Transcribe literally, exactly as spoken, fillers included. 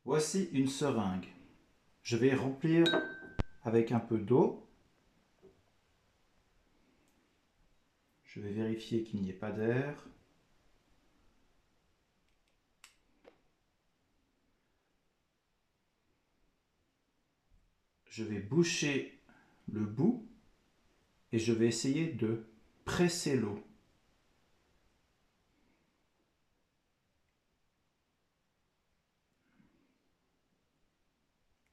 Voici une seringue. Je vais remplir avec un peu d'eau. Je vais vérifier qu'il n'y ait pas d'air. Je vais boucher le bout et je vais essayer de presser l'eau.